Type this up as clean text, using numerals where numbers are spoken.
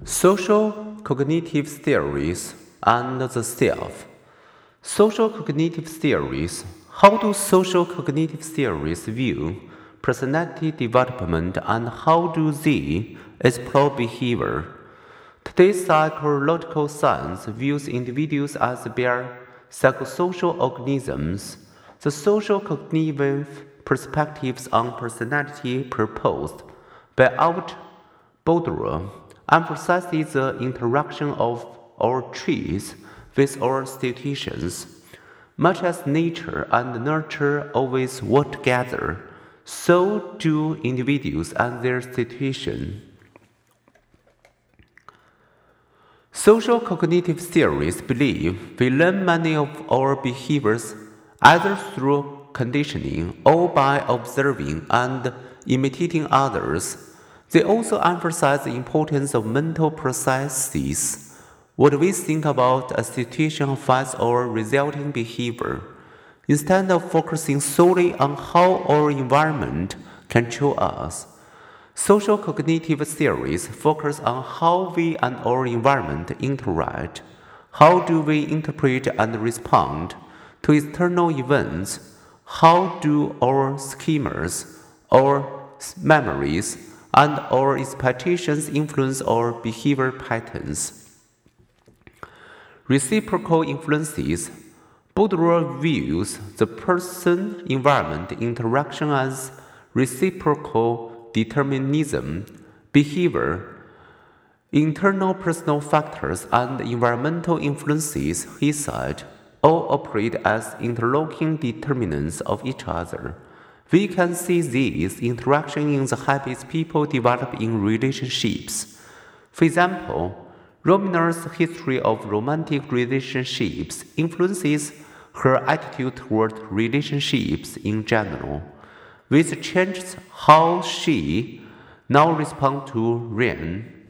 Social cognitive theories and the self. Social cognitive theories. How do social cognitive theories view personality development and how do they explore behavior? Today's psychological science views individuals as bare psychosocial organisms. The social cognitive perspectives on personality proposed by Albert Boudreaux emphasizes the interaction of our traits with our situations. Much as nature and nurture always work together, so do individuals and their situation. Social cognitive theories believe we learn many of our behaviors either through conditioning or by observing and imitating others. They also emphasize the importance of mental processes. What we think about a situation affects our resulting behavior. Instead of focusing solely on how our environment controls us, social cognitive theories focus on how we and our environment interact. How do we interpret and respond to external events? How do our schemas, our memories, and our expectations influence our behavior patterns? Reciprocal influences. Boudreaux views the person-environment interaction as reciprocal determinism. Behavior, internal personal factors, and environmental influences, he said, all operate as interlocking determinants of each other. We can see this interaction in the habits people develop in relationships. For example, Romina's history of romantic relationships influences her attitude toward relationships in general, which changes how she now responds to Ryan.